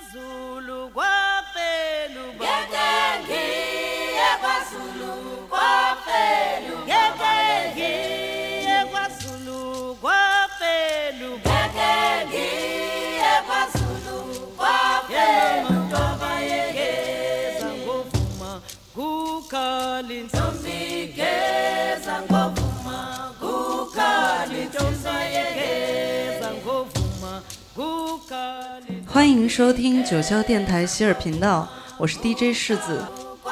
kwaZulu kwafela ubaba ngiye kwaZulu kwafela ubaba ngiye kwaZulu kwafela ubaba ngiye kwaZulu kwafela ubaba yegeza ngovuma kukhali intombi geza ngovuma kukhali intombi yegeza ngovuma kukhali。 欢迎收听九霄电台喜尔频道，我是 DJ 世子。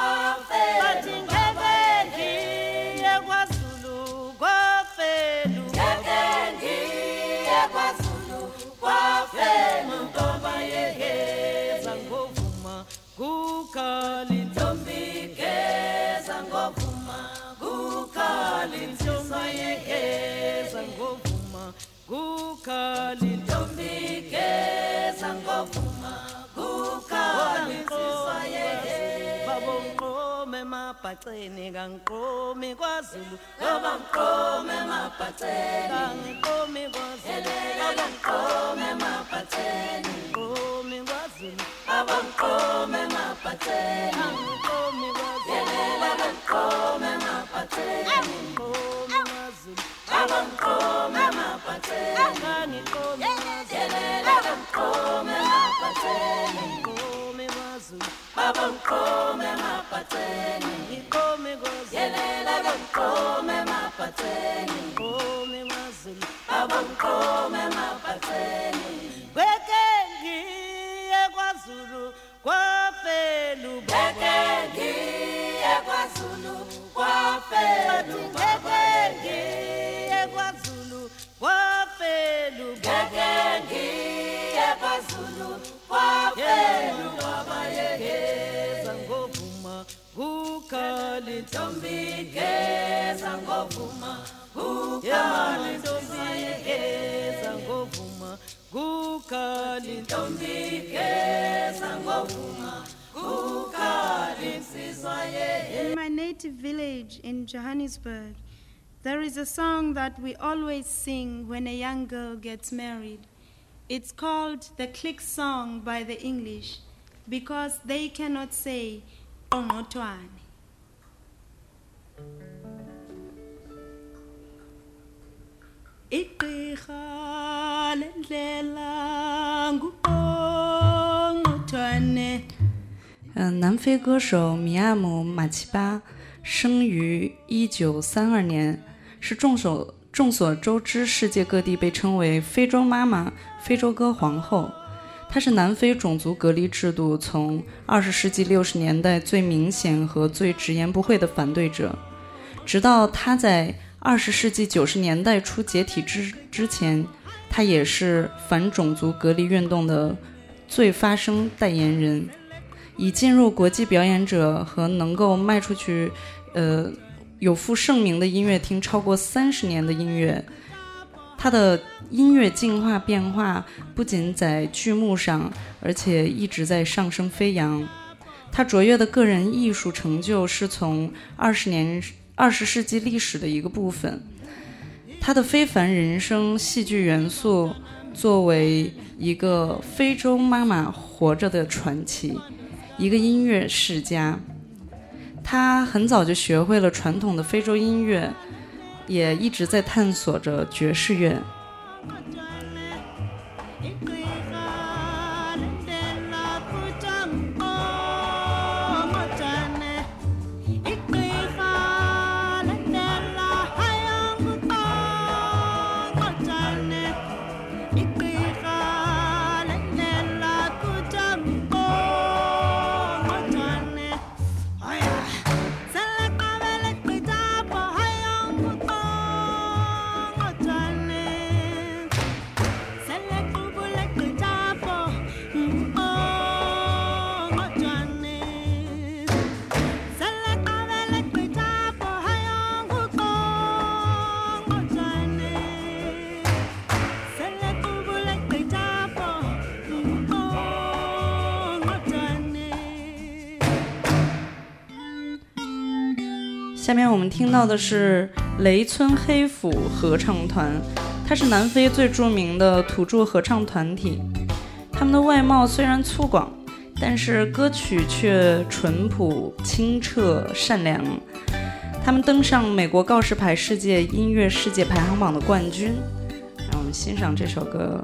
Mapaceni kangiqomi kwaZulu ngoba ngiqome mapaceni kangiqomi kwaZulu kangiqome mapaceni ngiqomi kwaZulu abangiqome mapaceni kangiqomi kwaZulu abangiqome mapaceni ngiqomi kwaZulu abangiqome mapaceni kangiqomi kwaZulu abangiqome mapaceni ngiqomi kwaZulu abangiqome mapaceni ngiqome yelela bangiqome mapaceni ngiqome kwaZulu abangiqome mapaceni beke ngiye kwaZulu kwafela ubaba ngiye kwaZulu kwafela ubaba ngiye kwaZulu kwafela ubaba ngiye kwaZulu kwafela ubaba yegeza ngovuma kukhali intombi geza ngovuma kukhali intombi geza ngovuma kukhali intombi geza ngovuma kukhali insizwa In my native village in Johannesburg, there is a song that we always sing when a young girl gets married. It's called the click song by the English because they cannot say Ongotwane. Igqirha lendlela nguOngotwane。 南非歌手米亚姆·马奇巴生于1932年，是众所周知世界各地被称为非洲妈妈、非洲歌皇后。她是南非种族隔离制度从20世纪60年代最明显和最直言不讳的反对者，直到她在20世纪90年代初解体之前，她也是反种族隔离运动的最发声代言人。以进入国际表演者和能够卖出去有负盛名的音乐厅超过30年的音乐，他的音乐进化变化不仅在剧目上，而且一直在上升飞扬。他卓越的个人艺术成就是从20世纪历史的一个部分。他的非凡人生戏剧元素作为一个非洲妈妈活着的传奇，一个音乐世家。他很早就学会了传统的非洲音乐，也一直在探索着爵士乐。下面我们听到的是雷村黑府合唱团，它是南非最著名的土著合唱团体。 他们的外貌虽然粗犷，但是歌曲却淳朴、清澈、善良。他们登上美国告示牌世界音乐世界排行榜的冠军。让我们欣赏这首歌。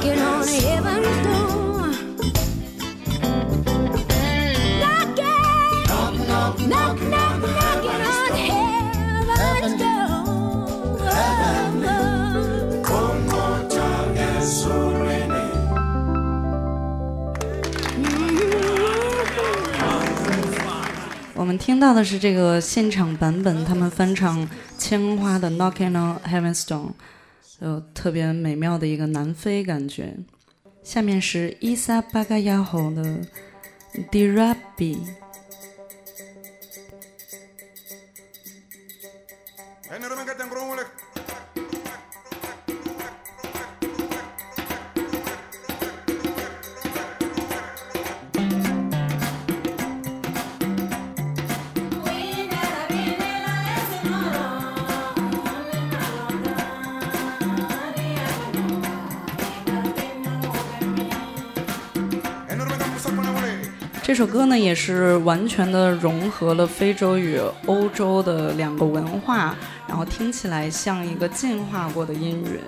knocking on heaven's door. Knocking, knock, knock, knock, knocking on heaven's door. 我们听到的是这个现场版本，他们翻唱千花的 Knocking on Heaven's Door， 特别美妙的一个南非感觉。下面是伊萨巴嘎亚吼的 Dirabi。这首歌呢，也是完全的融合了非洲与欧洲的两个文化，然后听起来像一个进化过的音乐。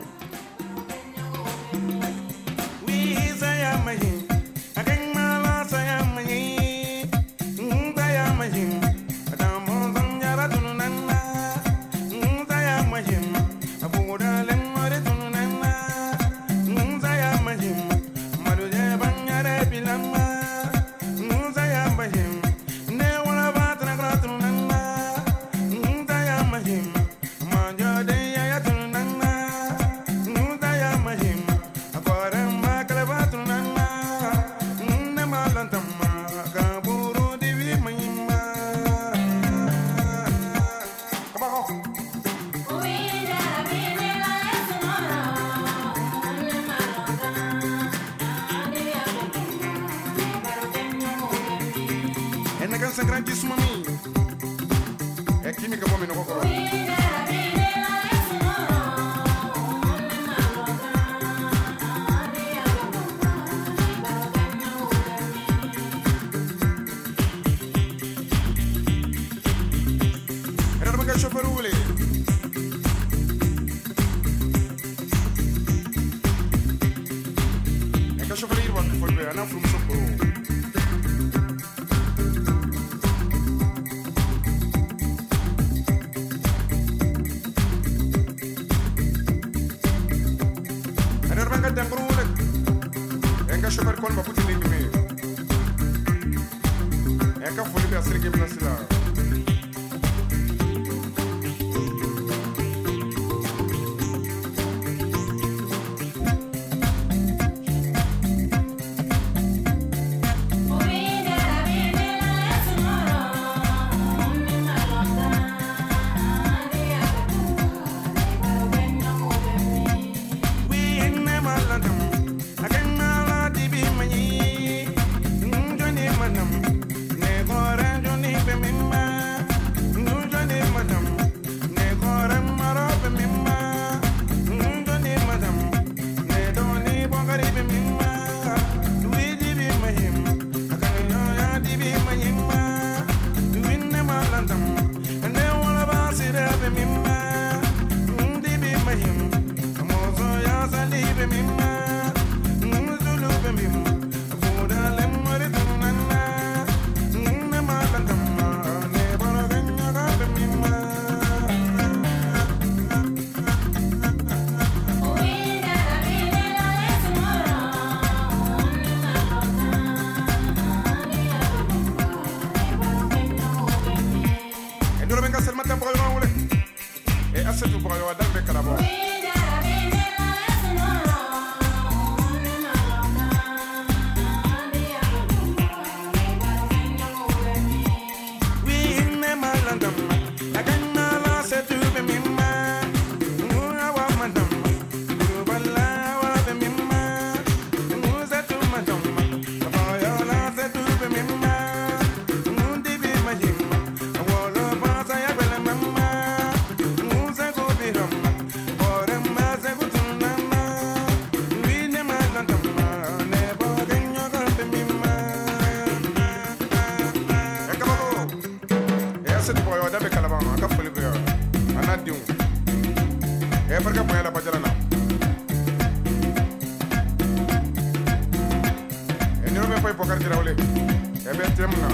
fo Bokar Dirawle e be temna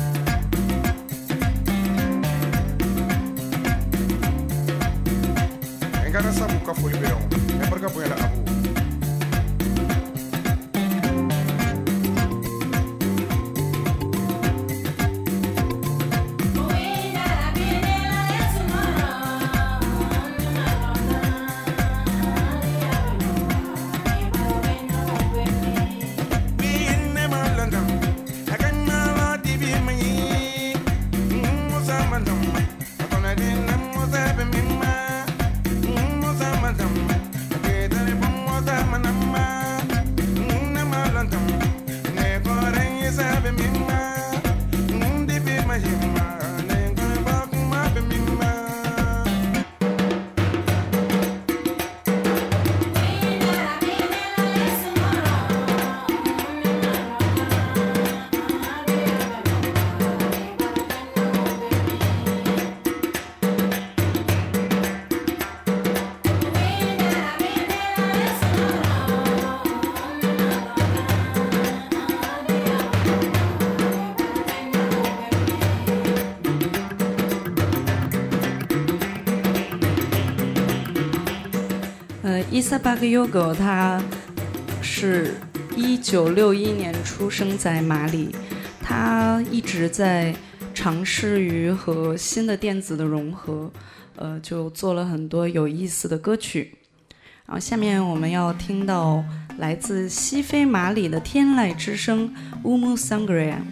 engana sabu ka foli be on e barka boya la abu 伊萨巴克尤狗，他是1961年出生在马里，他一直在尝试于和新的电子的融合，就做了很多有意思的歌曲。然后下面我们要听到来自西非马里的天籁之声乌姆桑格瑞亚。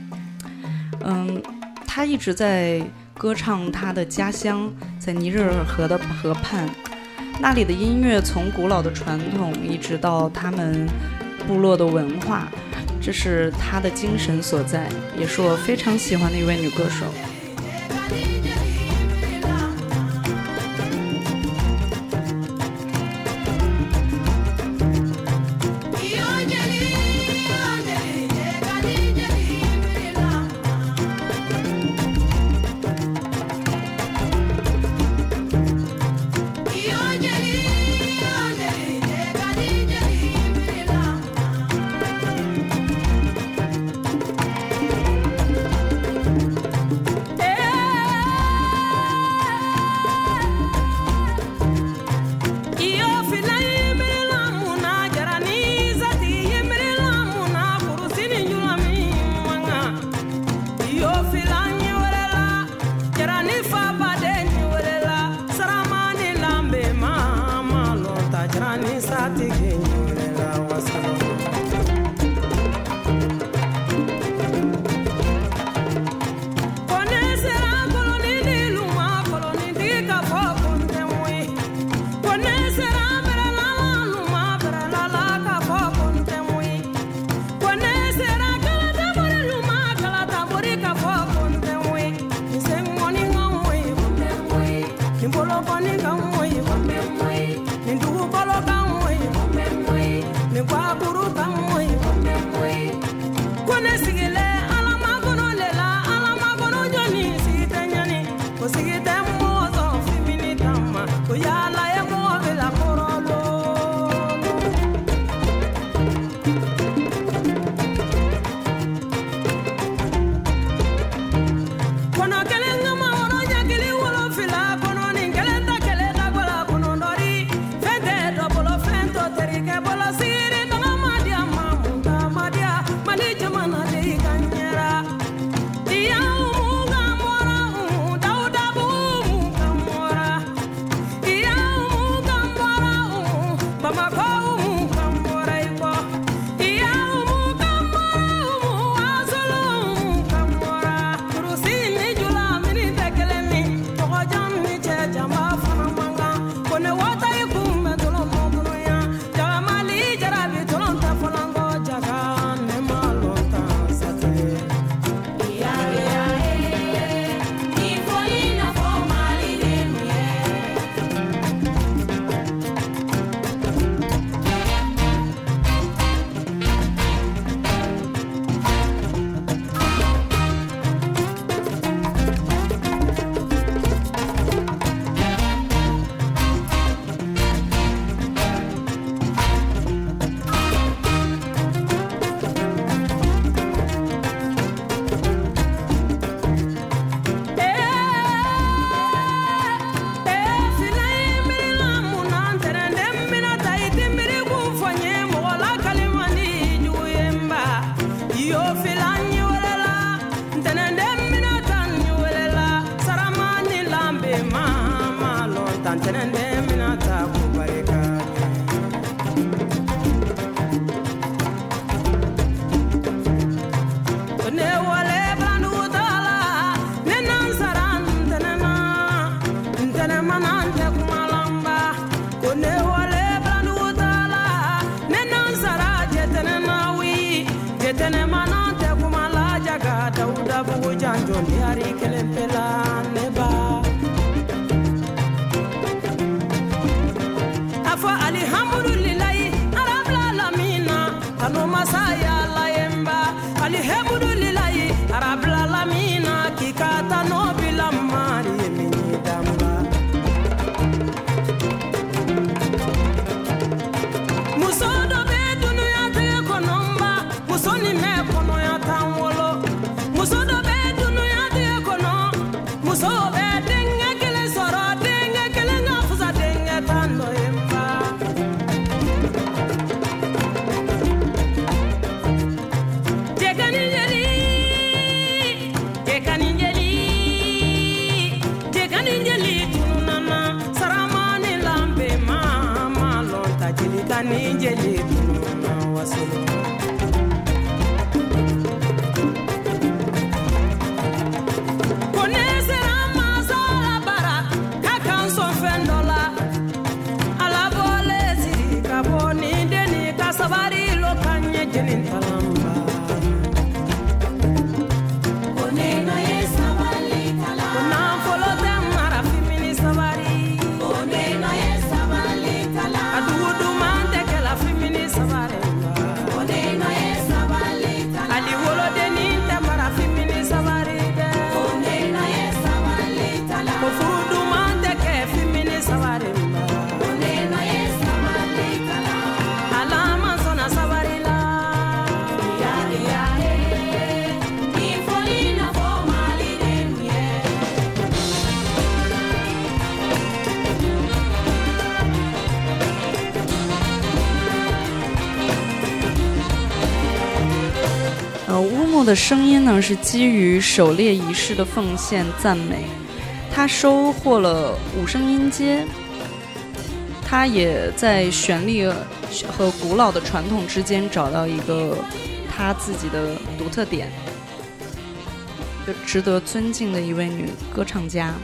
他一直在歌唱他的家乡，在尼日尔河的河畔。那里的音乐从古老的传统一直到他们部落的文化，这是他的精神所在，也是我非常喜欢的一位女歌手。 bugu janjo ni hari kelen pela neba afo alhamdulillahi rabbil alamin kanu masaya la yemba alhamdulillahi rabbil alamin kikata no bilamari mini damba musodo be dunya te konomba musoni me kono ya tanwolo musodo be dunya te kono muso be denga kele soro denga kele ngafuza denga tando yemba jekani tunana saramani lambe mama lonta jekani tunana wasolo sabari lo kanye jenin talamba oneno ye sabali tala na folo te mara fimini sabari oneno ye sabali tala adudu mande ke la fimini sabari oneno ye sabali tala ali wolo de ni te mara fimini sabari de oneno ye sabali tala ofudu mande ke fimini sabari oneno ye sabali tala alama sabarila ya ifolina formali denye 乌木的声音呢是基于狩猎仪式的奉献赞美，他收获了五声音阶，他也在旋律和古老的传统之间找到一个他自己的独特点，就值得尊敬的一位女歌唱家。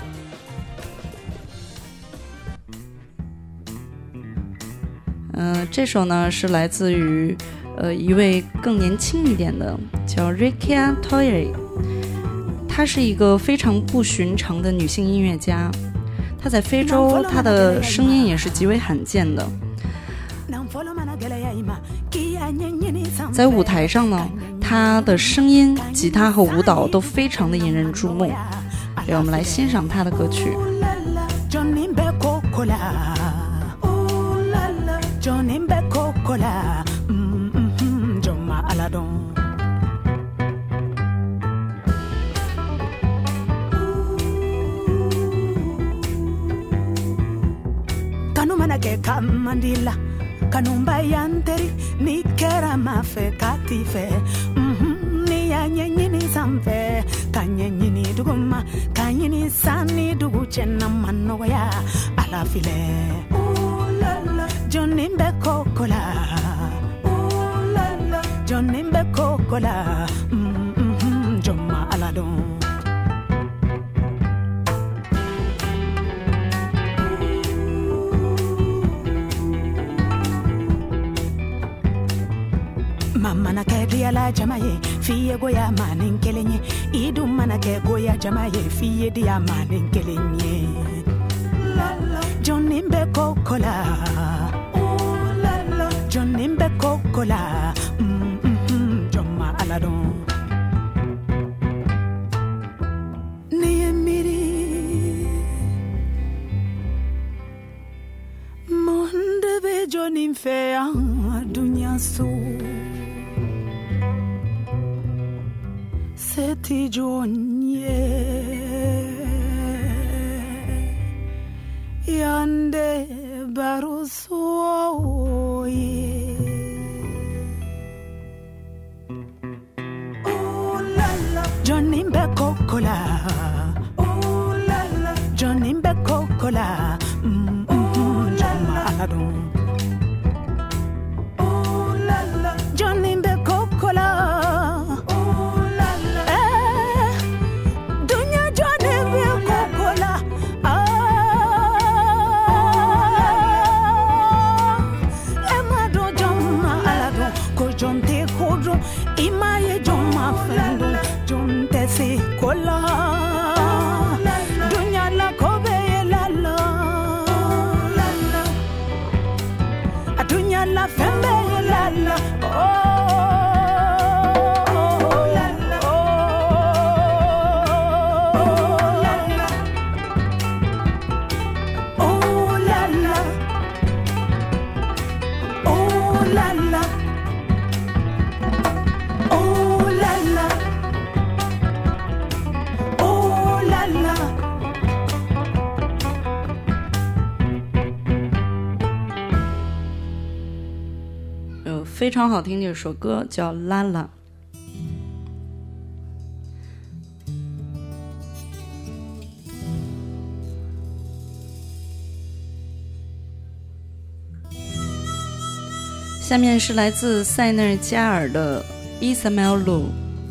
这首呢是来自于一位更年轻一点的，叫 Rekia Toure， 她是一个非常不寻常的女性音乐家。她在非洲，她的声音也是极为罕见的。在舞台上呢，她的声音、吉他和舞蹈都非常的引人注目。让我们来欣赏她的歌曲。 Kamandila kanumba yanteri ni kera mafe katife ni ya nyenyini samfe kanyenyini duguma kanyini sani dugu chena manoya alafile jonimbe kokola jonimbe kokola joma aladon Mana ke diala jamaye fiye goya manin kelenye idu mana ke goya jamaye fiye dia manin kelenye Johnimbe kokola oh la la Johnimbe kokola joma aladon Niemiri monde be Johnnim fe dunya so Seti jonye yande barusoye Oh la la Johnimbe kokola Oh la la Johnimbe kokola Jama aladon Oh la la Johnimbe kokola Emma la la, oh la la, oh la la. 非常好听的一首歌叫《拉拉》。下面是来自塞内加尔的伊萨梅尔鲁，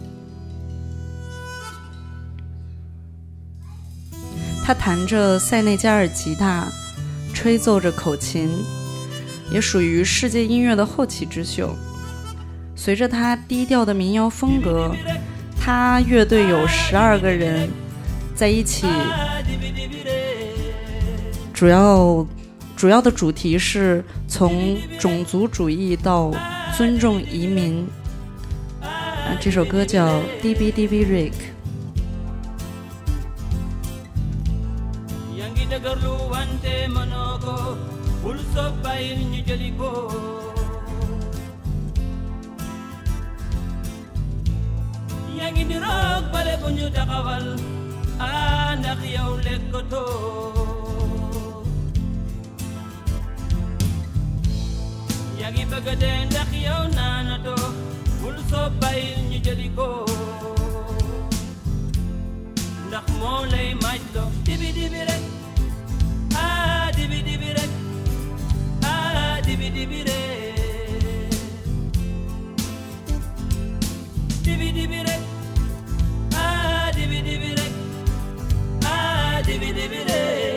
他弹着塞内加尔吉他，吹奏着口琴，也属于世界音乐的后起之秀。随着他低调的民谣风格，他乐队有12个人在一起，主要的主题是从种族主义到尊重移民。这首歌叫 DB Rick。 Yagi bagade ndax yow naanato bul soo bàyyil ñu jëli ko ndax moo lay maaj lo dibi dibi rek ah dibi dibi rek ah dibi dibi rek dibi dibi rek ah dibi dibi rek ah dibi dibi rek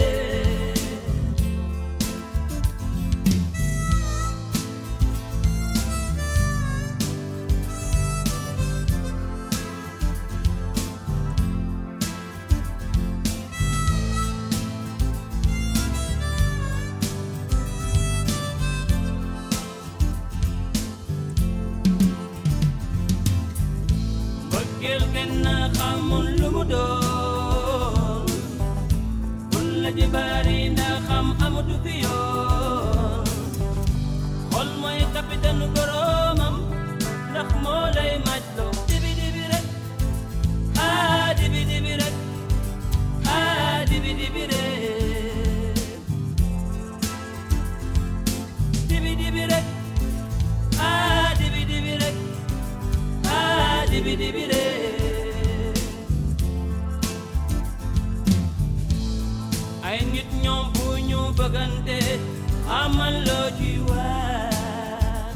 ay nit ñoom bu ñu bëggante amal loo ci waar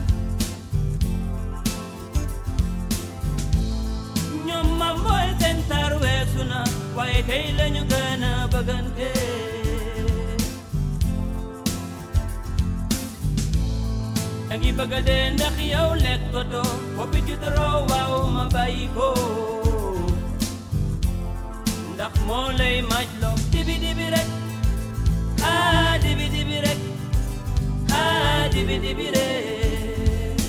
ñoom ma mooy seen tar weesu na waaye tey lañu gën a bëggante dangi bëgga dee ndax yow lekkatoo boppi ci toroo waaw ma bàyyi ko ndax moo lay maaj loo dibi dibi rek ah dibi dibi rek ah dibi dibi rek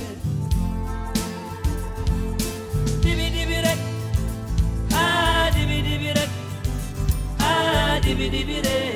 dibi dibi rek ah dibi dibi rek ah dibi dibi rek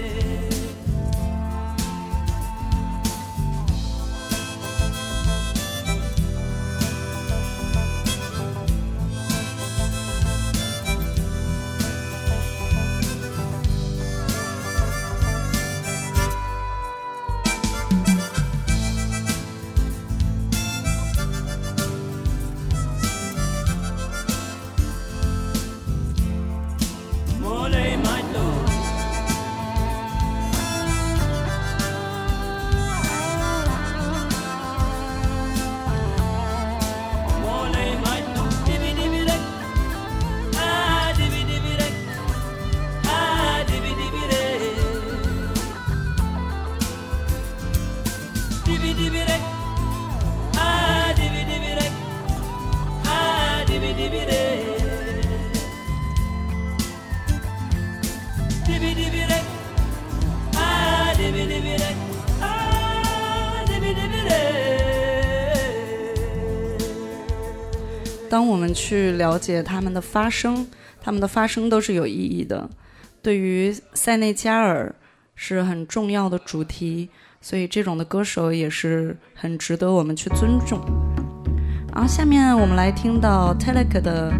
当我们去了解他们的发声都是有意义的，对于塞内加尔是很重要的主题， 所以这种的歌手也是很值得我们去尊重。然后下面我们来听到 Telek 的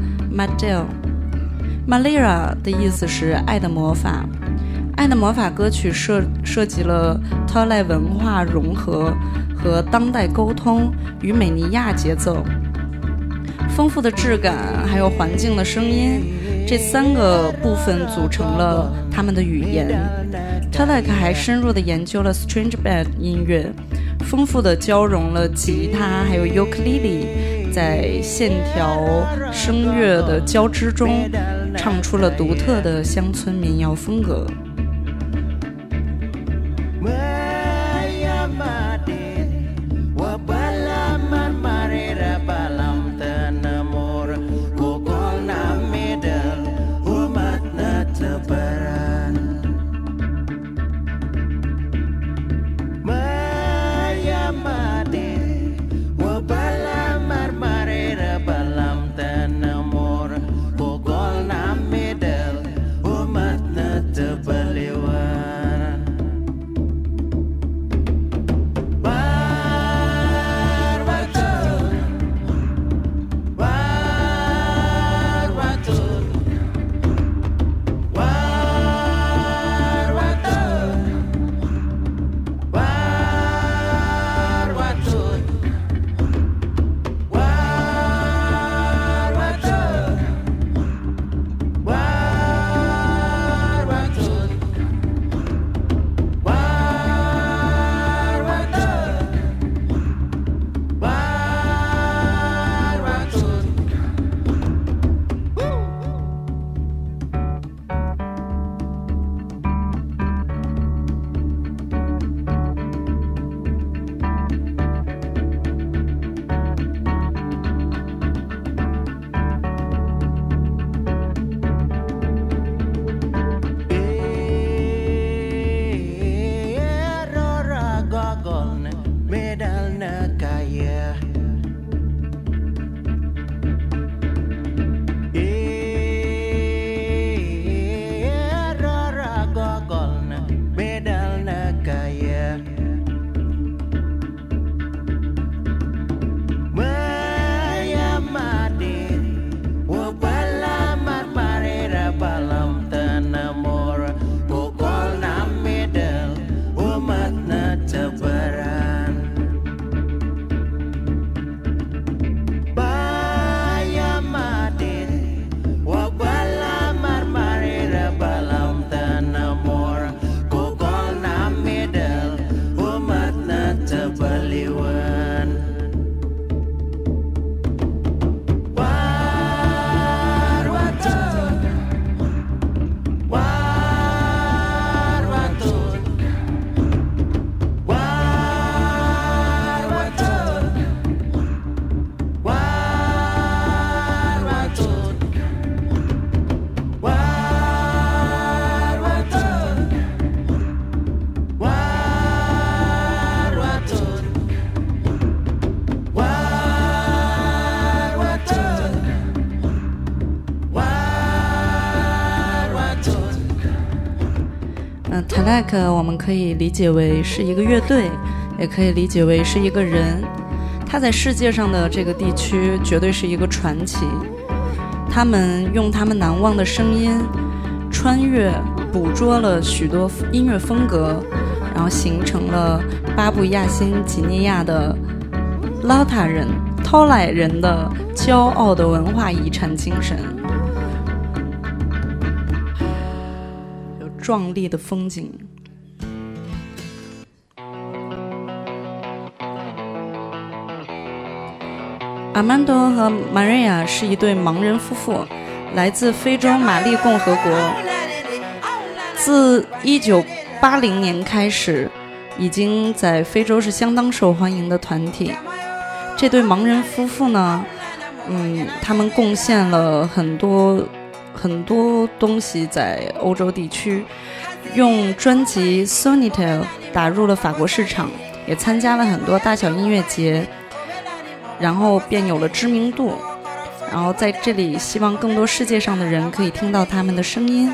Madel。Malira 的意思是爱的魔法，爱的魔法歌曲涉及了 Tolai 文化融合和当代沟通与美尼亚节奏，丰富的质感还有环境的声音，这3个部分组成了他们的语言。Telek 还深入地研究了 String Band 音乐，丰富地交融了吉他还有 ukulele， 在线条声乐的交织中唱出了独特的乡村民谣风格。Telek 我们可以理解为是一个乐队，也可以理解为是一个人。他在世界上的这个地区绝对是一个传奇。他们用他们难忘的声音穿越捕捉了许多音乐风格，然后形成了巴布亚新几内亚的拉塔人、Tolai人的骄傲的文化遗产精神，有壮丽的风景。Armando 和 Maria 是一对盲人夫妇，来自非洲马利共和国。自1980年开始，已经在非洲是相当受欢迎的团体。这对盲人夫妇呢，他们贡献了很多东西在欧洲地区，用专辑 Sonitel 打入了法国市场，也参加了很多大小音乐节，然后便有了知名度。然后在这里希望更多世界上的人可以听到他们的声音。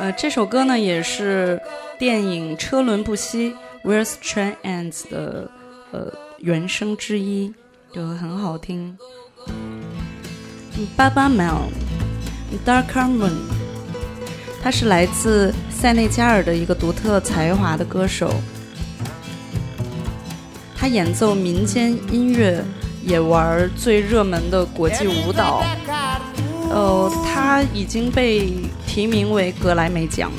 这首歌呢也是电影《车轮不息》Where the Train Ends 的原声之一，就很好听。Baba Mel Darker Moon， 他是来自塞内加尔的一个独特才华的歌手，他演奏民间音乐，也玩最热门的国际舞蹈。他已经被提名为格莱美奖。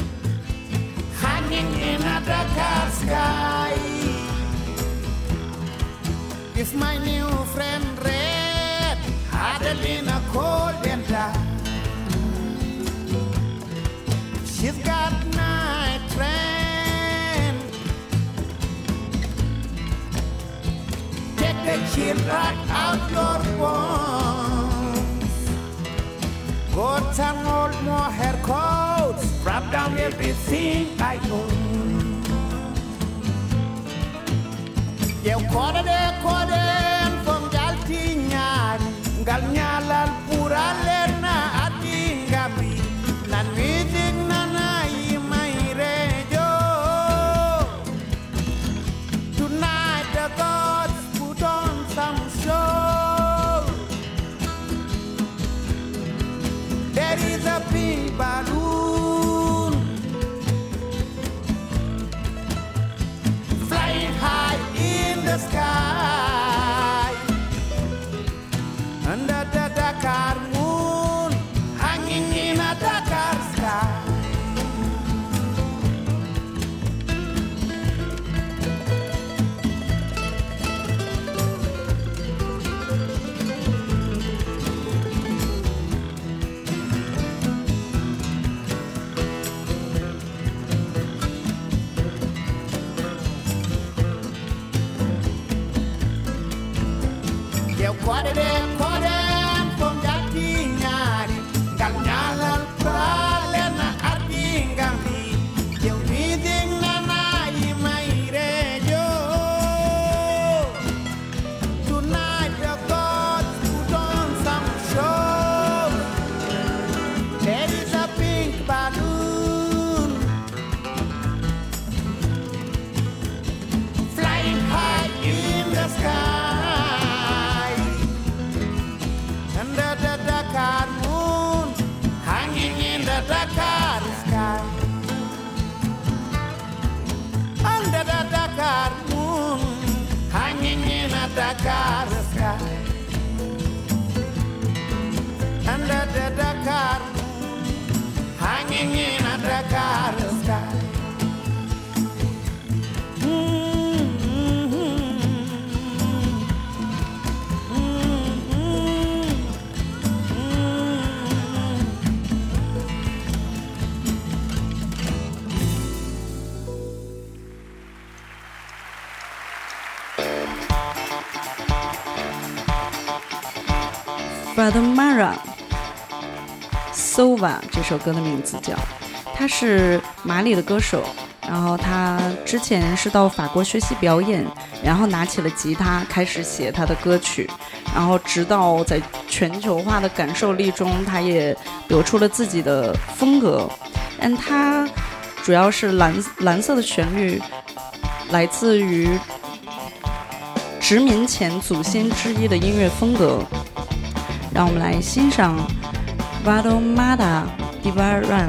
If my new friend Red had been a cold and dark, she's got night train. Take the chill right out your bones. Go turn old more hair coats, wrap down everything I own. Eu kode from galtinyan galnyalan pura lena atingami nan miting nanai mai rejo. Tonight the gods put on some show. There is a pink balloon flying high in the sky, under the Dakar moon, hanging in a Dakar sky. Eu kode from galtinyan galnyalan pura lena atingami. Eu miting nanai mai rejo. Tonight the gods put on some show. There is a pink balloon flying high in the sky, under the Dakar moon, hanging in the Dakar sky. Under the Dakar moon, hanging in a Dakar sky. Under the Dakar moon, hanging in a Dakar sky. Brother Mara Sova 这首歌的名字叫，他是马里的歌手，然后他之前是到法国学习表演，然后拿起了吉他开始写他的歌曲，然后直到在全球化的感受力中，他也得出了自己的风格。但他主要是蓝色的旋律来自于殖民前祖先之一的音乐风格。让我们来欣赏 Vado Mada Divaran。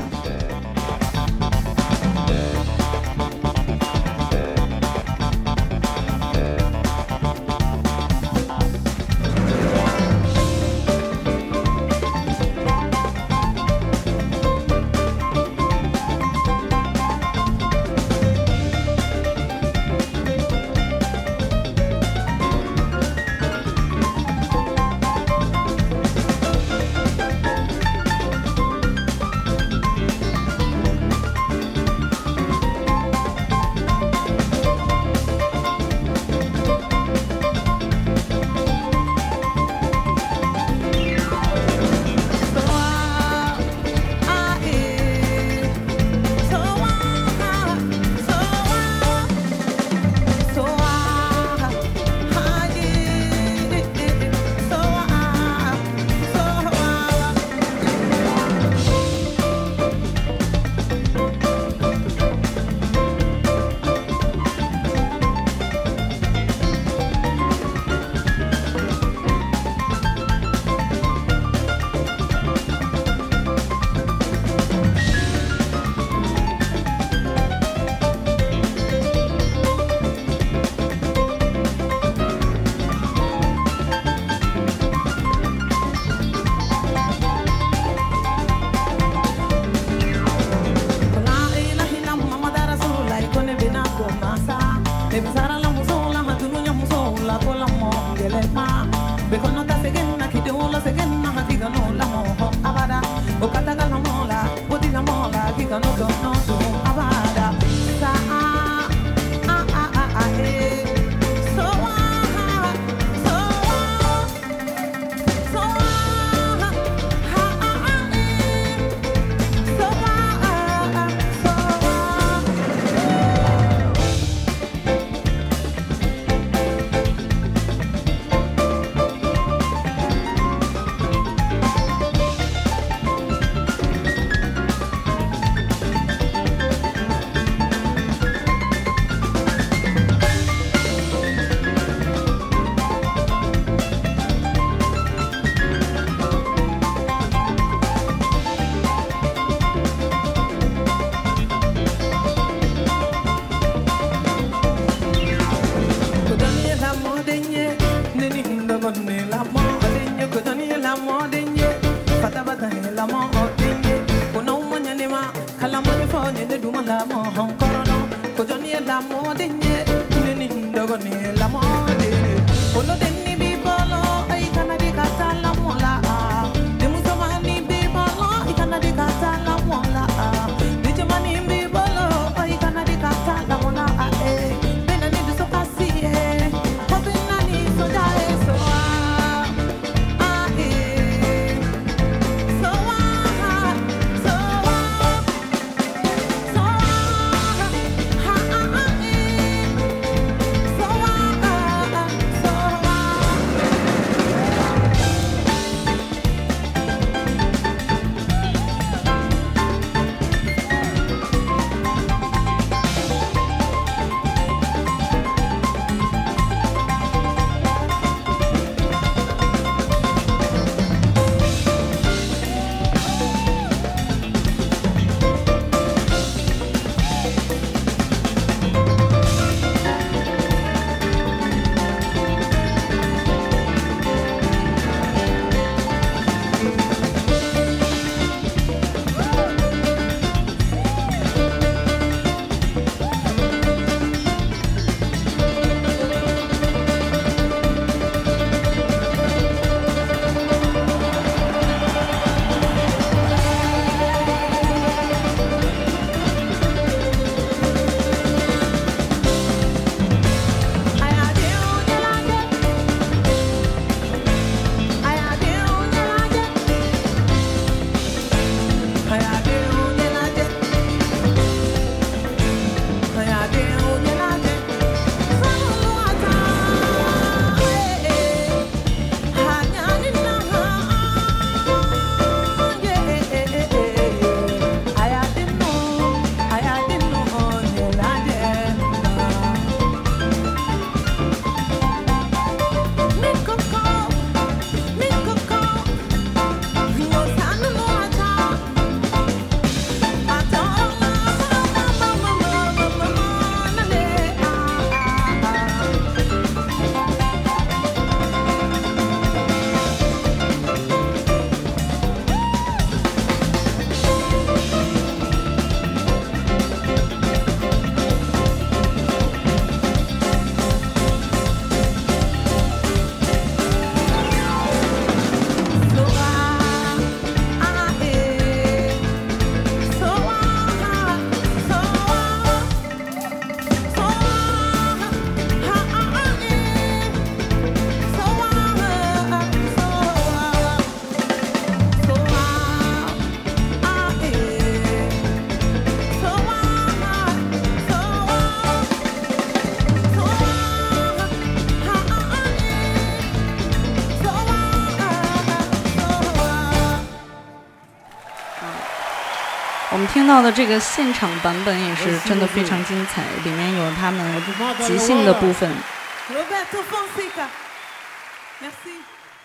们听到的这个现场版本也是真的非常精彩，里面有他们即兴的部分。 Roberto Fonseca. Merci.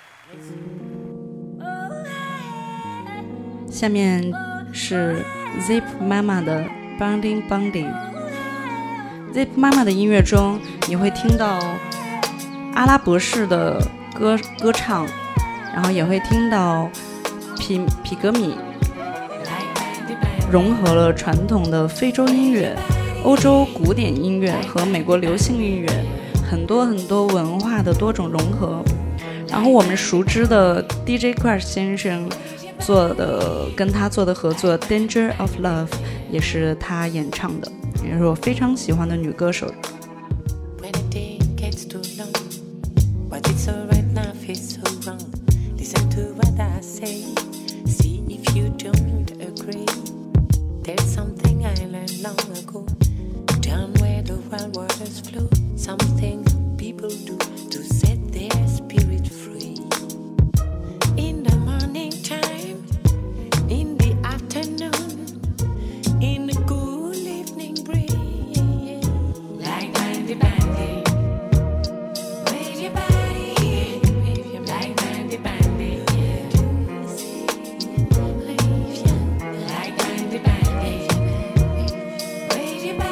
下面是 Zip 妈妈的 Bonding Bonding。Zip 妈妈的音乐中，你会听到阿拉伯式的歌唱，然后也会听到皮格米融合了传统的非洲音乐、欧洲古典音乐和美国流行音乐，很多文化的多种融合。然后我们熟知的 DJ Crash 先生跟他做的合作 Danger of Love 也是他演唱的，也是我非常喜欢的女歌手。 Baby,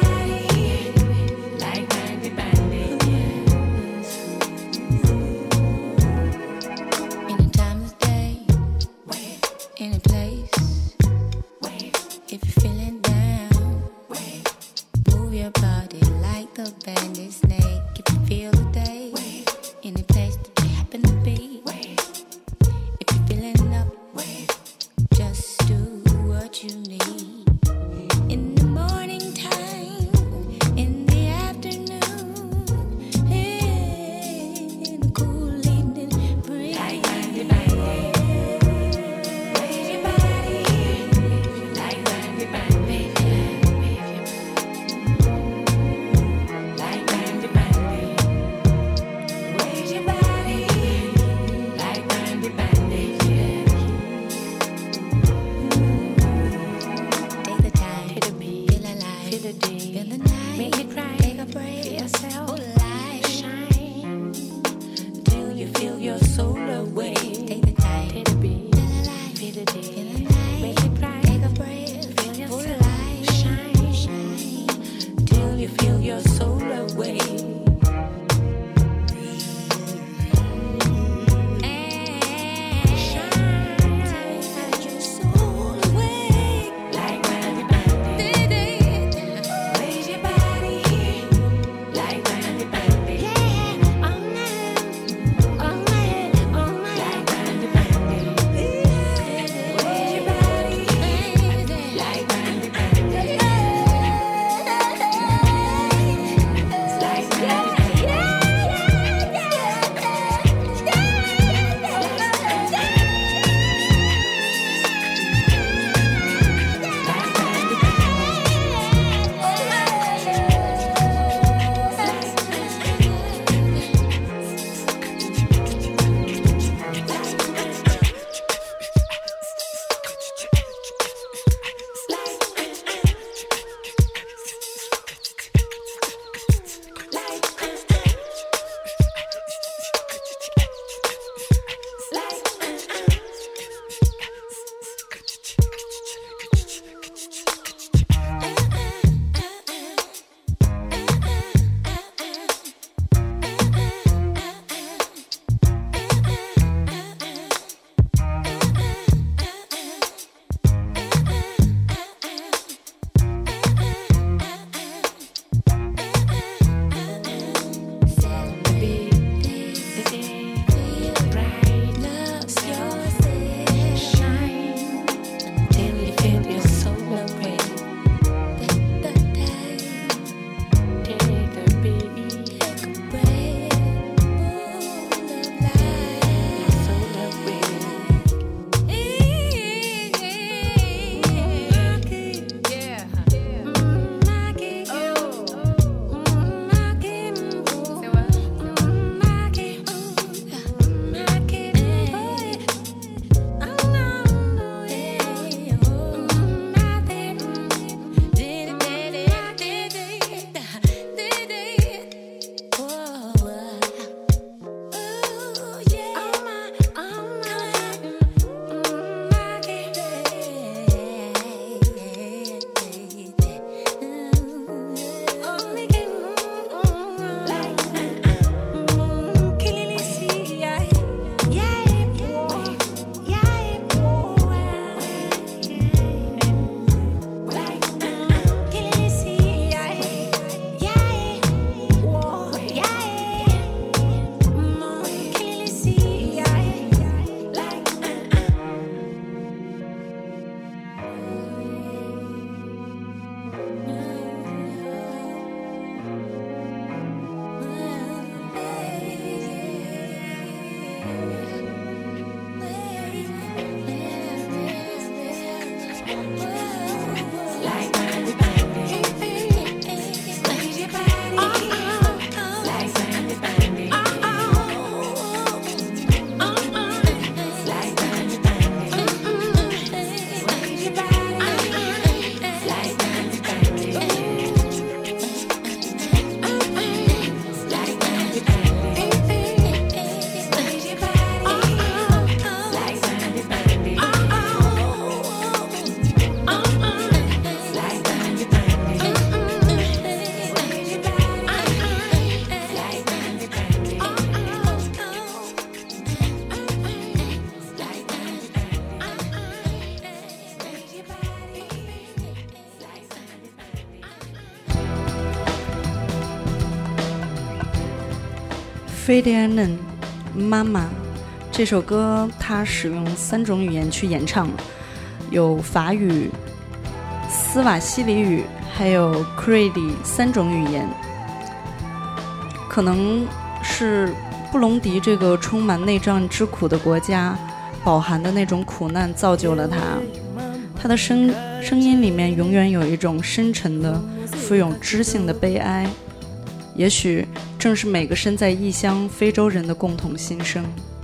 Ferdinand 妈妈这首歌，它使用3种语言去演唱，有法语、斯瓦希里语还有 Creole 3种语言。可能是布隆迪这个充满内战之苦的国家饱含的那种苦难造就了他，他的声音里面永远有一种深沉的富有知性的悲哀，也许正是每个身在异乡非洲人的共同心声。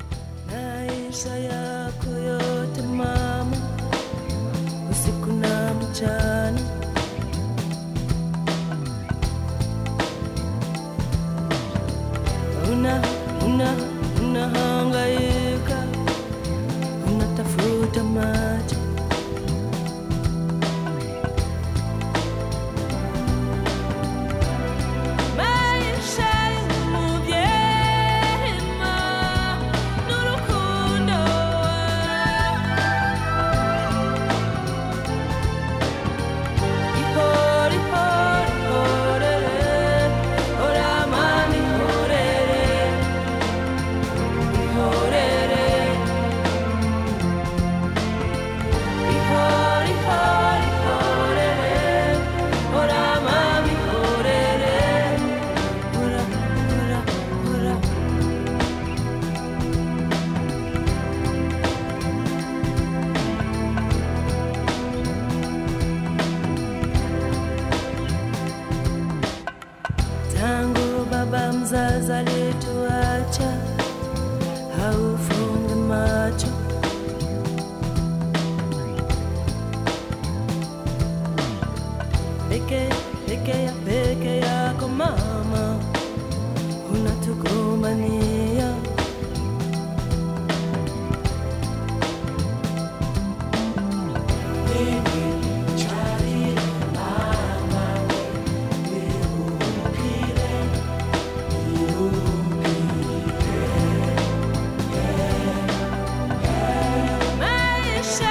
peke yako mama, unatukumania.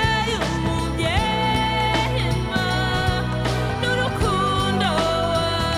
N'urukundo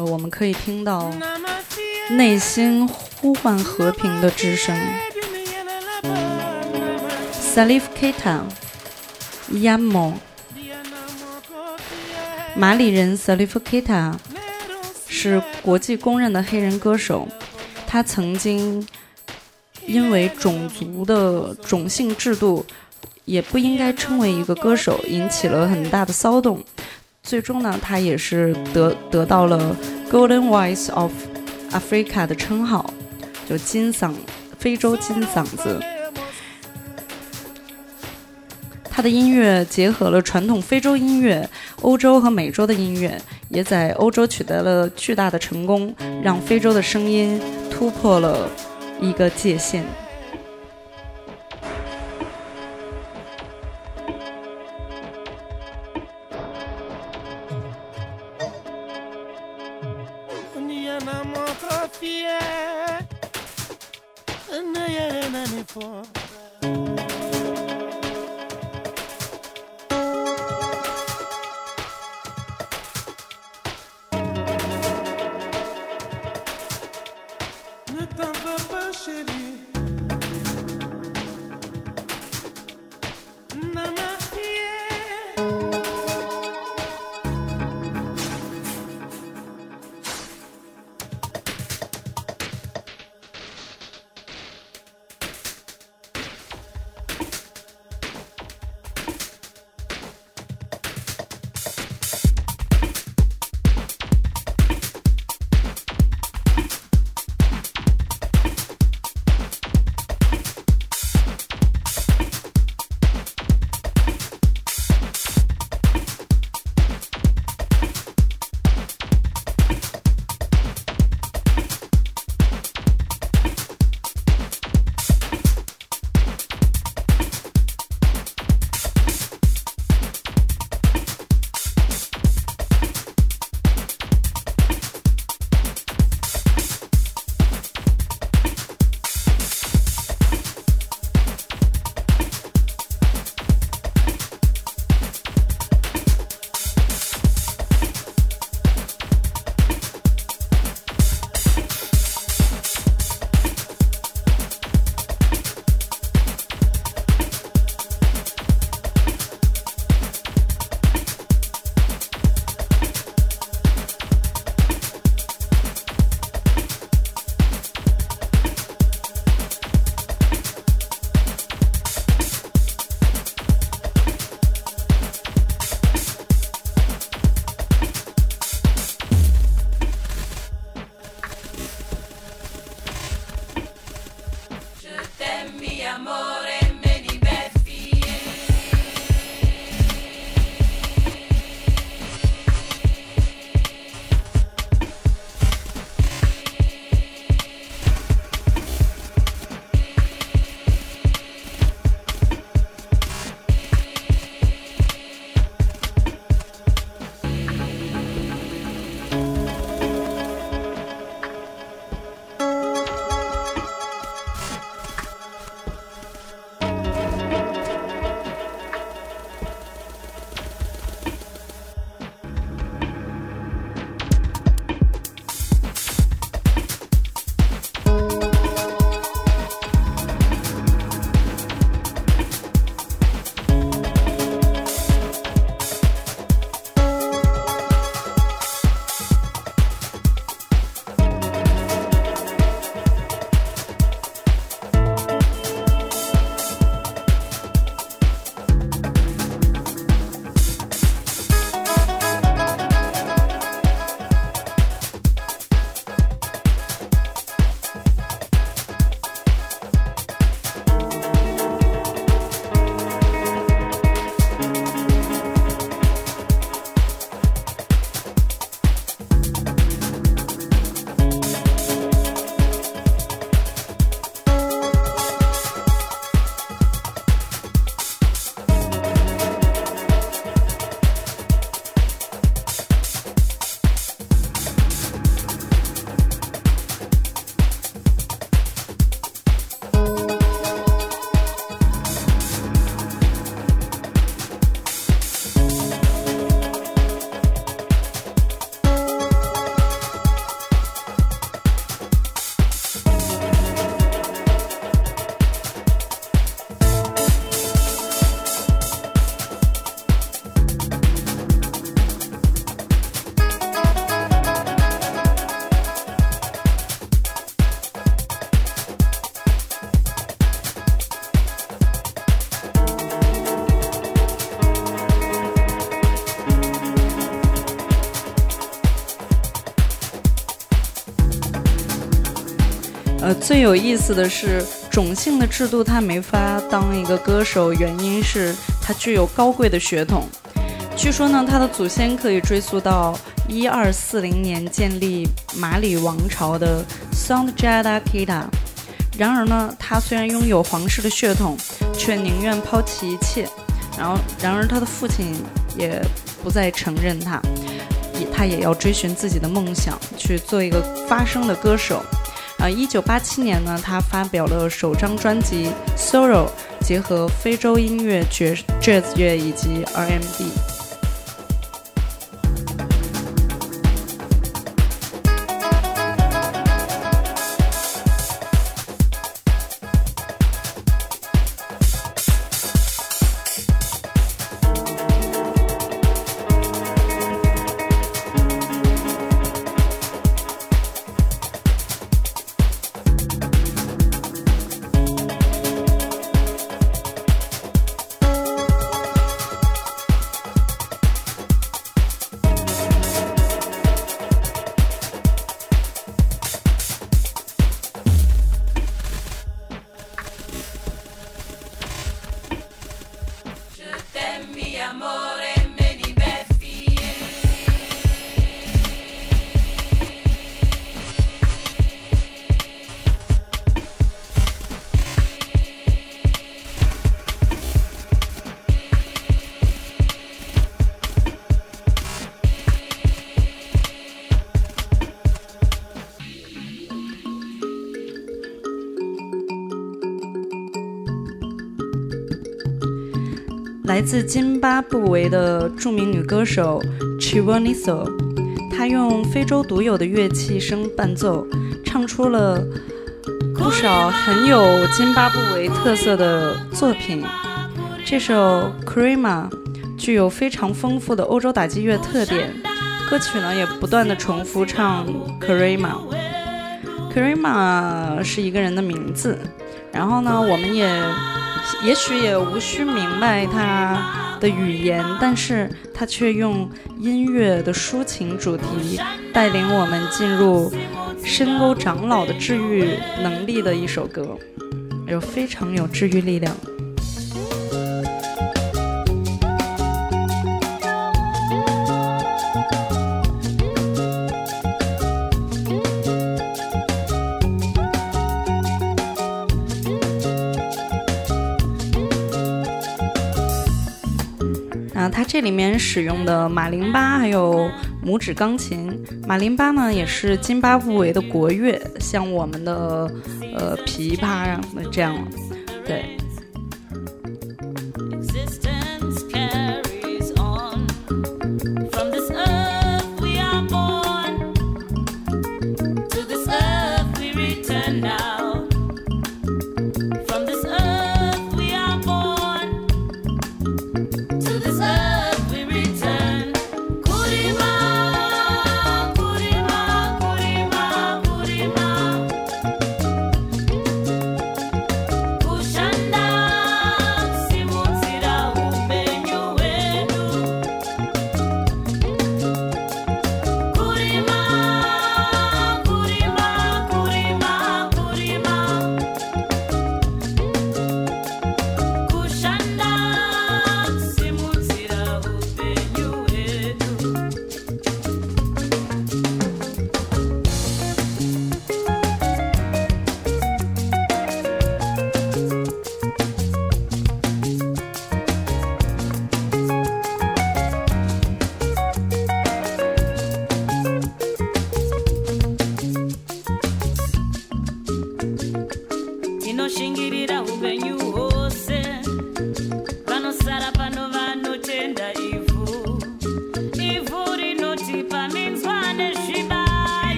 我们可以听到内心呼唤和平的之声。Salif Keita Yamo， 马里人 Salif Keita 是国际公认的黑人歌手，他曾经因为种族的种姓制度也不应该称为一个歌手，引起了很大的骚动。最终呢，他也是得到了 Golden Voice of Africa 的称号，就非洲金嗓子。他的音乐结合了传统非洲音乐、欧洲和美洲的音乐，也在欧洲取得了巨大的成功，让非洲的声音突破了一个界限。 最有意思的是种姓的制度，他没法当一个歌手，原因是他具有高贵的血统。据说呢，他的祖先可以追溯到1240年建立马里王朝的 Santjata Kita。然而呢，他虽然拥有皇室的血统，却宁愿抛弃一切。然而他的父亲也不再承认他，他也要追寻自己的梦想，去做一个发声的歌手。1987年呢，他发表了首张专辑《Sorrow》，结合非洲音乐、Jazz 乐以及 R&B。来自津巴布韦的著名女歌手 Chivoniso， 她用非洲独有的乐器声伴奏，唱出了不少很有津巴布韦特色的作品。这首 Karima 具有非常丰富的欧洲打击乐特点，歌曲呢也不断的重复唱 Karima。Karima 是一个人的名字，然后呢我们也许也无需明白他的语言，但是他却用音乐的抒情主题带领我们进入深沟长老的治愈能力的一首歌，非常有治愈力量。它这里面使用的马林巴还有拇指钢琴，马林巴呢也是津巴布韦的国乐，像我们的琵琶啊这样，对。 Kushanda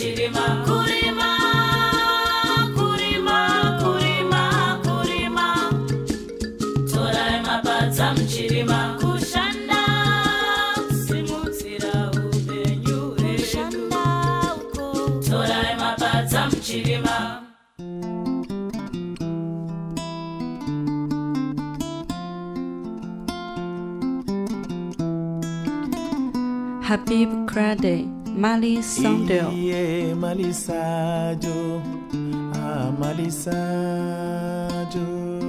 mchirima kurima kurima kurima kurima torai mabadza mchirima kushanda simudzira upenyu hwedu torai mabadza mchirima. Habib Krade, Mali Sandel. Mali Sajo, Mali Sajo.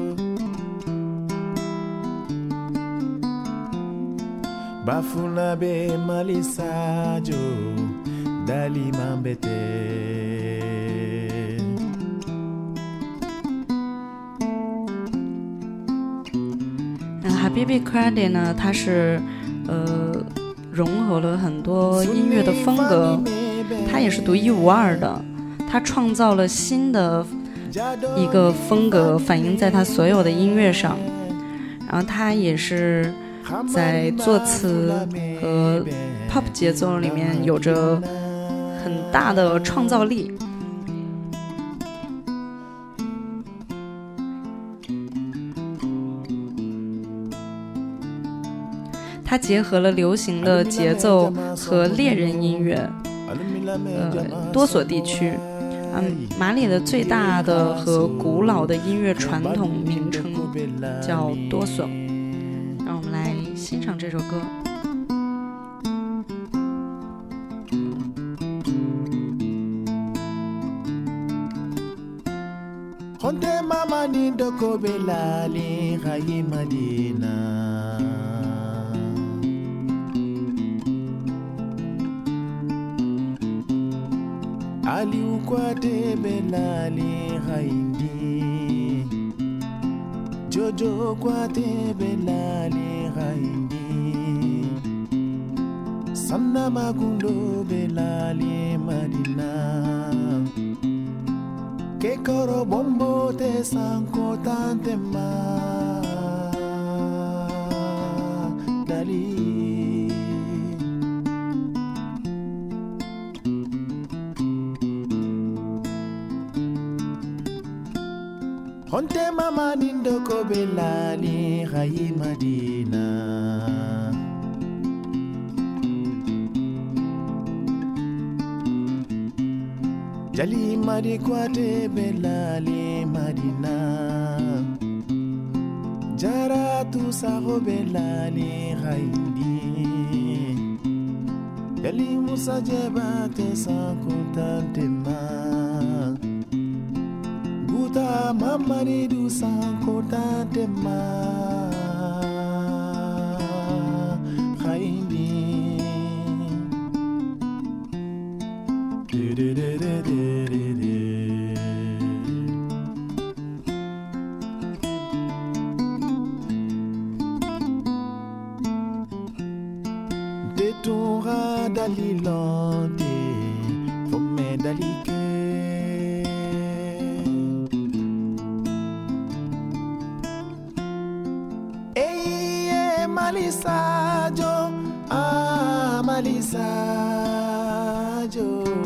Bafuna be Mali Sajo, Dali Mambete. Habib Krade 呢，他是融合了很多音乐的风格，他也是独一无二的，他创造了新的一个风格，反映在他所有的音乐上。然后他也是在作词和 pop 节奏里面有着很大的创造力。它结合了流行的节奏和猎人音乐，多所地区，马里的最大的和古老的音乐传统名称叫多索。让我们来欣赏这首歌。 Honte mama ni doko belali hayi Madina. Ali ukwate belali haindi, Jojo kwate belali haindi, Samna magundo belali Madina, Kekoro bombo te sanko tante ma dali. Honte mama nindo ko belali hayi Madina. Jali madi kwate belali Madina. Jara tu saho belali hayindi. Jali musa jebate sankutante ma. Guta mama ni du sankutante ma. Hayindi. Detura dalilonde fome dalike Eye malisajo malisajo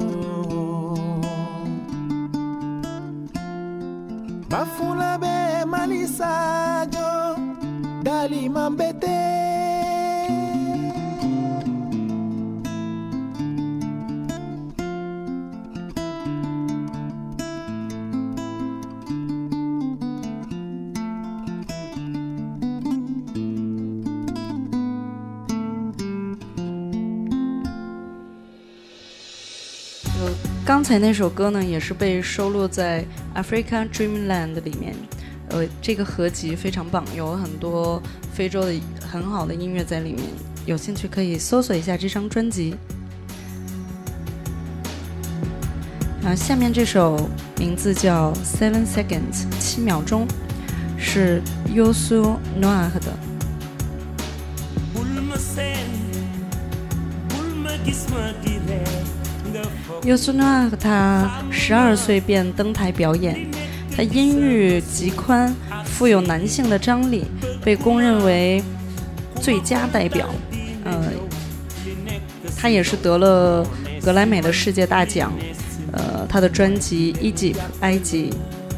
Bafula be malisajo dali mambete 刚才那首歌呢，也是被收录在 Africa Dreamland 里面。这个合集非常棒，有很多非洲的很好的音乐在里面，有兴趣可以搜索一下这张专辑。下面这首名字叫 Seven Seconds 7秒钟，是 Youssou N'Dour 的。Youssou N'Dour 他12岁便登台表演，他音域极宽，富有男性的张力，被公认为最佳代表。 他也是得了格莱美的世界大奖。他的专辑《Egypt》埃及。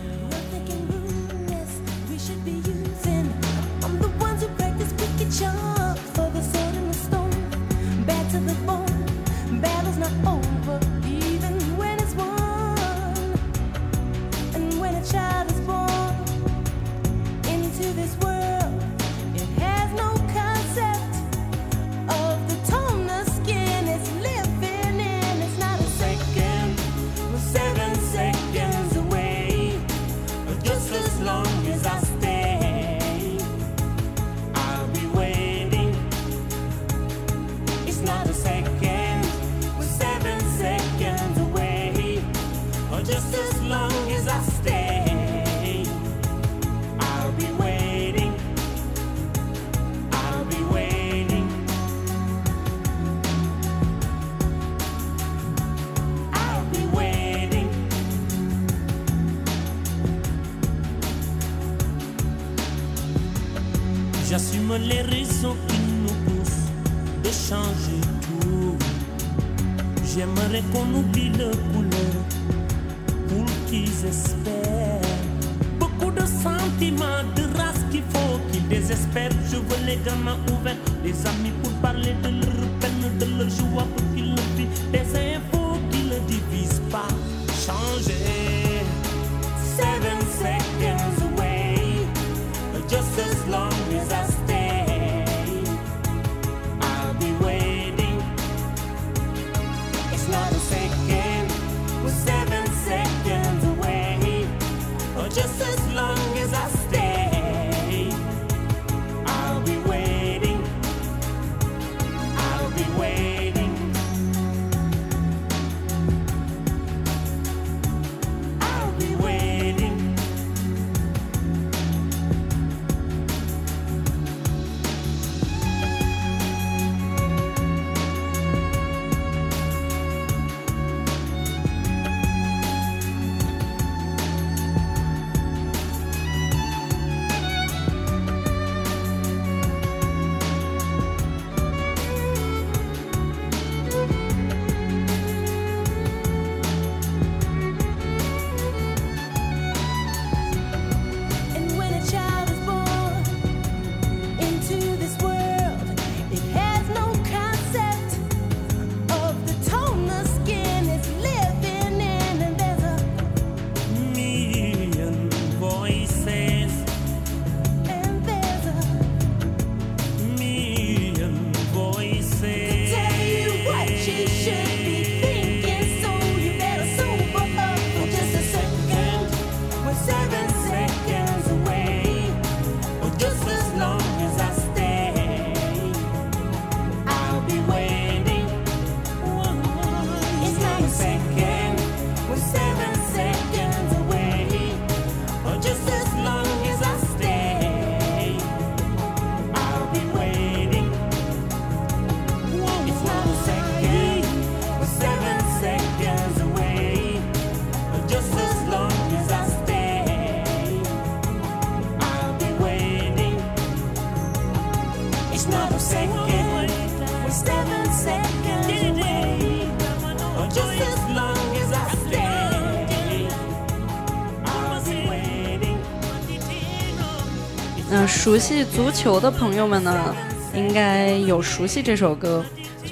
J'assume les raisons qui nous poussent de changer tout. J'aimerais qu'on oublie le couleur pour qu'ils espèrent. Beaucoup de sentiments, de race qu'il faut qu'ils désespèrent. Je veux les gamins ouverts, les amis pour parler de leur peine, de leur joie pour qu'ils le vivent. Des infos qui ne divisent pas. Changer. 7 seconds away, just as long as I stay, I'll be waiting. It's not a second, we're 7 seconds away. Or just as long as I stay, I'll be waiting. I'll be waiting. I'll be waiting. 熟悉足球的朋友们呢，应该有熟悉这首歌，就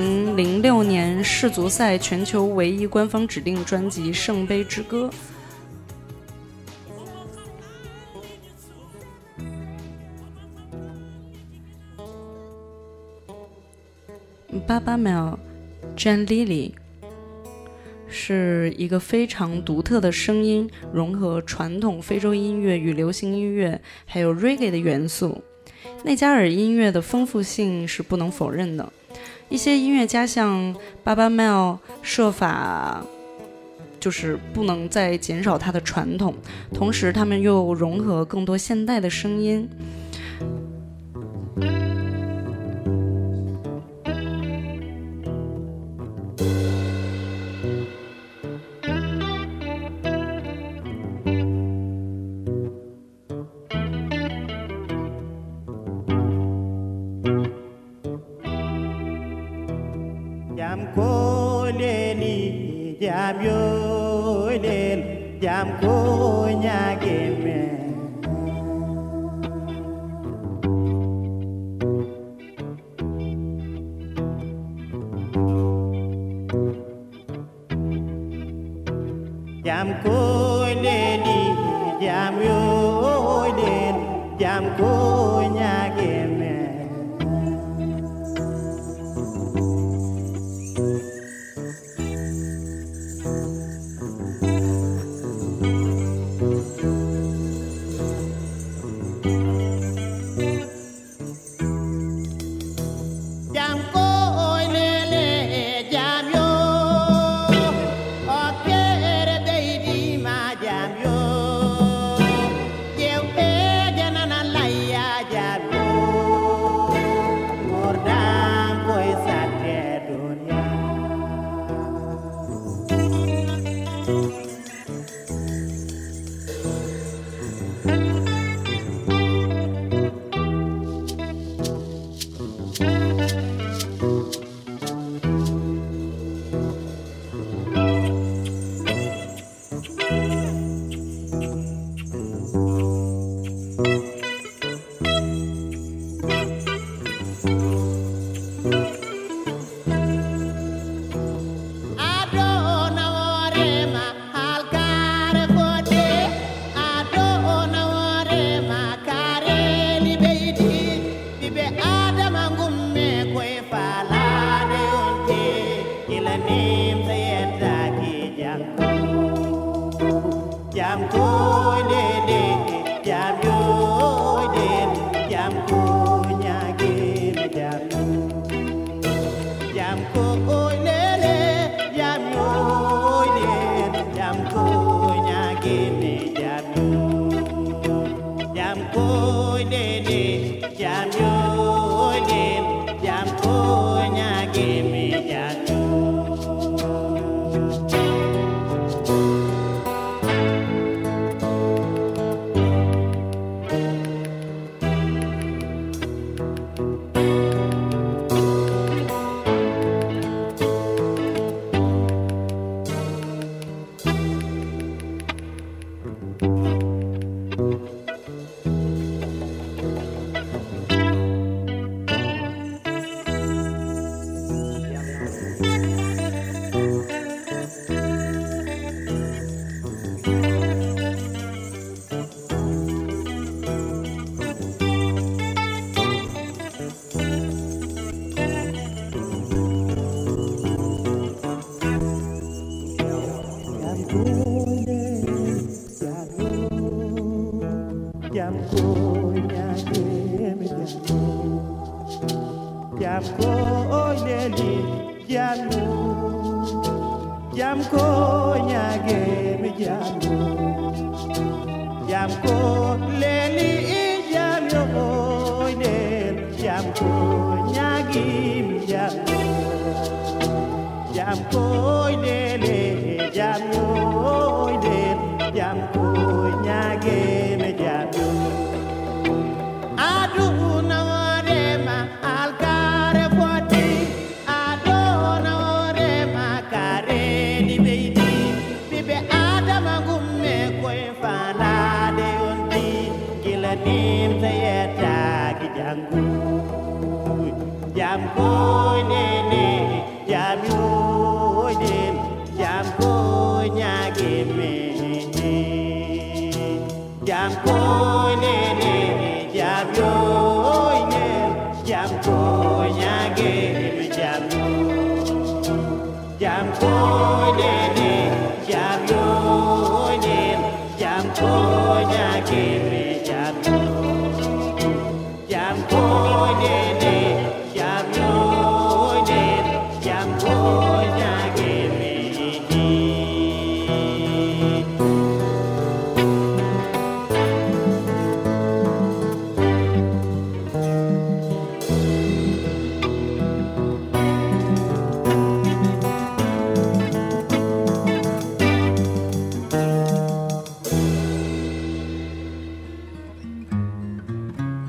2006年世足赛全球唯一官方指定专辑《圣杯之歌》。Baba Mel Jan Lili 是一个非常独特的声音，融合传统非洲音乐与流行音乐还有 reggae 的元素。内加尔音乐的丰富性是不能否认的，一些音乐家像 Baba Mel 设法就是不能再减少它的传统，同时他们又融合更多现代的声音。 jam ko leni jam yo len jam ko nyage me jam ko leni jam yo len jam ko nyage me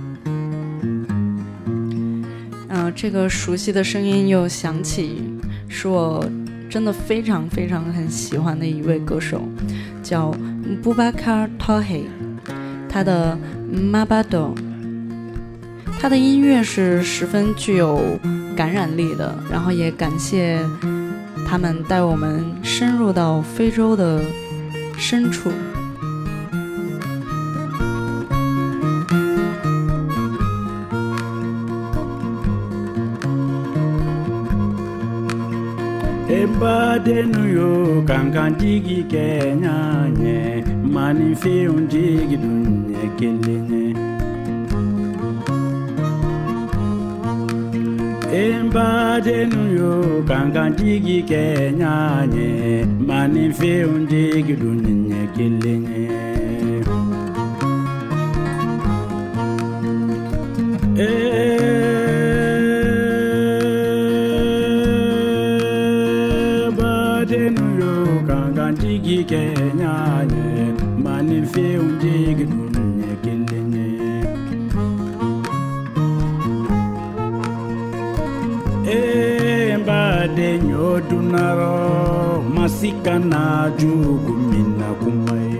这个熟悉的声音又响起， 是我真的非常非常很喜欢的一位歌手，叫 Boubacar Touré， 他的 Mabado， 他的音乐是十分具有感染力的，然后也感谢他们带我们深入到非洲的深处。 Embadenu yo kankan digi kenya nye mani fiun digi dunye kelenye Embadenu yo kankan digi kenya nye mani fiun digi dunye kelenye Digi Kenya nye mani fe digi dunye kelenye Mbade nyodunaro masika na jugu mina kumaye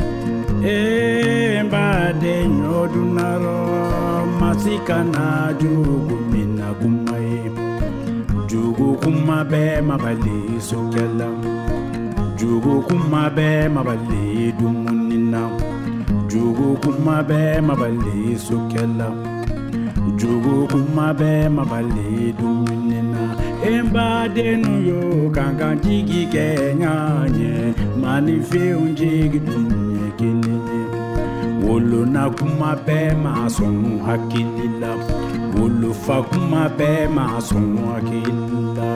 Mbade nyodunaro masika na jugu mina kumaye Jugu kumabe mabali sokela Jugu kumabe mabali dumunina Jugu kumabe mabali sokela Jugu kumabe mabali dumunina Embade nuyo kankan digi kenya nye mani fe digi dunye kelenye Wolo na kumabe mason hakilila Wolo fa kumabe mason hakilila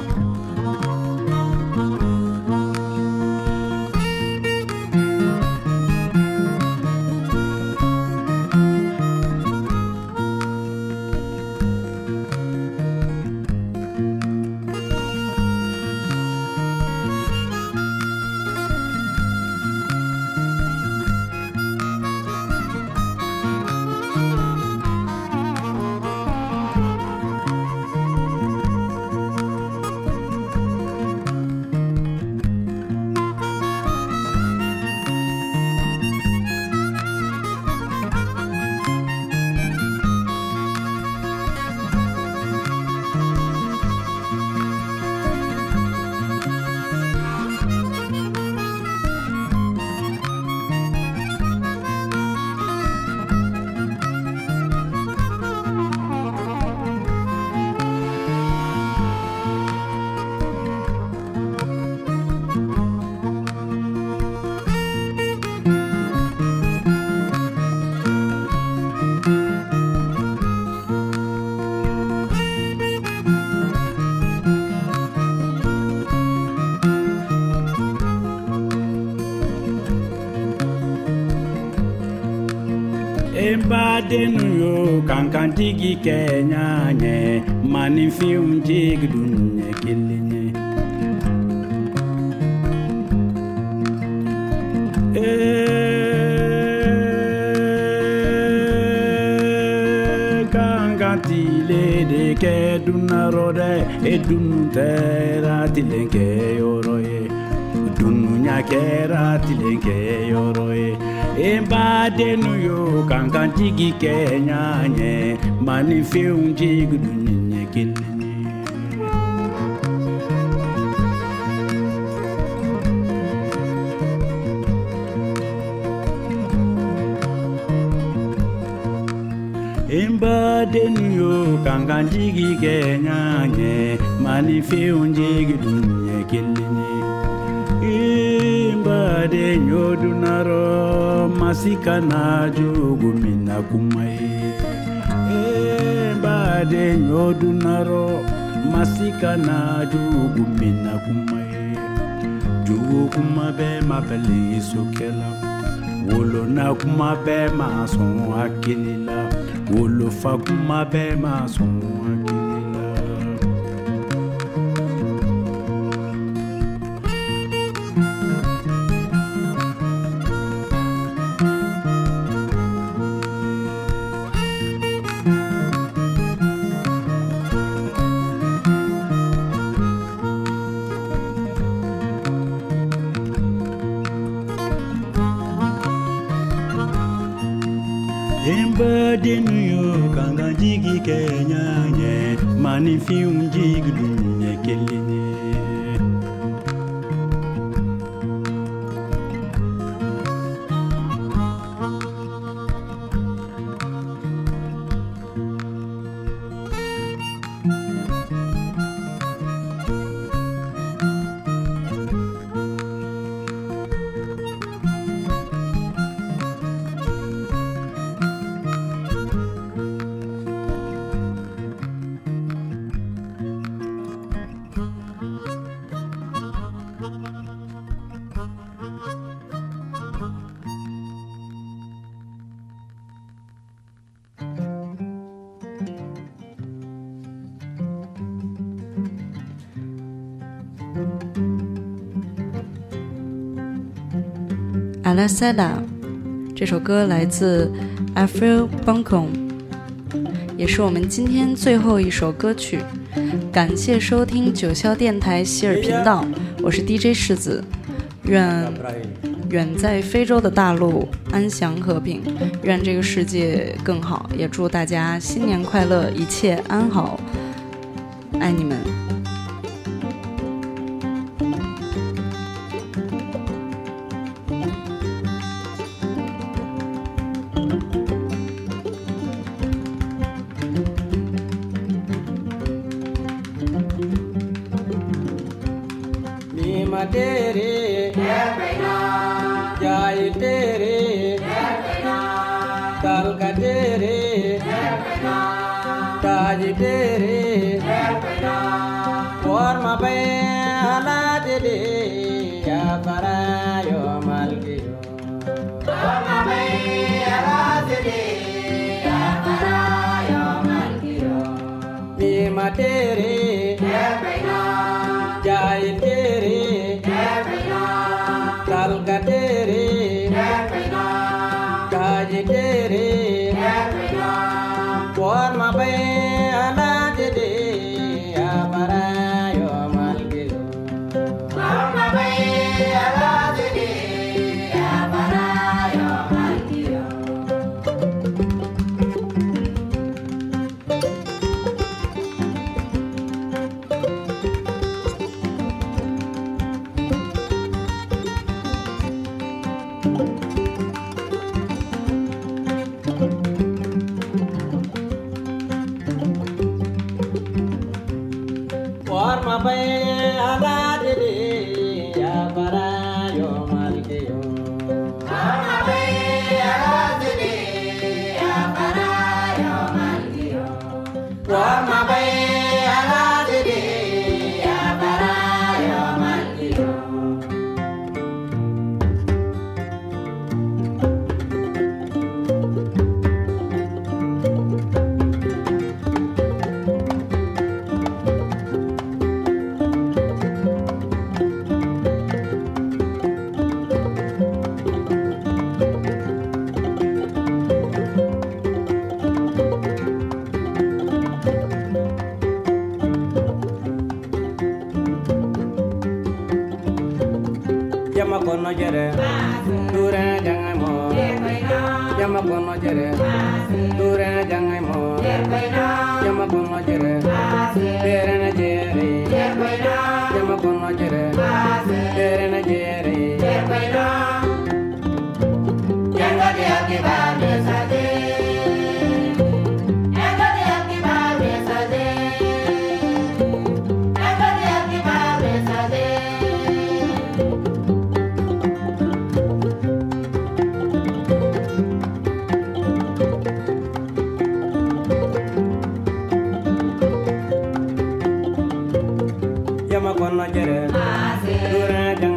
Embade nuyo kankan digi kenya nye mani fiun digi dunye kelenye Kankan tile de ke dunarode dunu tera tilenke yoroye Dunu nyakera tilenke yoroye Embade nuyo kankan digi kenya nye mani fe digi dunye kelenye Embade nuyo kankan digi kenya nye mani fe digi dunye kelenye Mbade nyodunaro masika na jugu mina kumaye Mbade nyodunaro masika na jugu mina kumaye Jugu kumabe mabali sokela Wolo na kumabe mason akilila Wolo fa kumabe mason akilila denu yo kanga jigi kenya nye mani fium jigi dunye kelinye 阿拉萨达这首歌来自 Avril Buncombe， 也是我们今天最后一首歌曲。感谢收听九霄电台希尔频道，我是 DJ 世子，愿远在非洲的大陆安详和平，愿这个世界更好，也祝大家新年快乐，一切安好，爱你们。 Tere Jai Tere Kalka Tere Taj Tere Warma Bayala Tere Yapara Yo Malkiyo Warma Bayala Tere Yapara Yo Malkiyo Mima Tere Jai Tere Kalka Tere Taj Tere Warma Bayala Tere Yapara Yo Malkiyo Warma Bayala Tere Yapara Yo Malkiyo Warma Bayala Tere Yapara Yo Malkiyo Warma Bayala Tere Yapara Yo Malkiyo Warma Bayala Tere Yapara Yo Malkiyo Yama kono jere dure jangai mo Yama kono jere dure jangai mo Yama kono jere dere na jere Yama kono jere dere na jere Yanga dia ki ba de sa de Yanga dia ki ba de sa de Yanga dia ki ba de sa de Yama kono jere dure jangai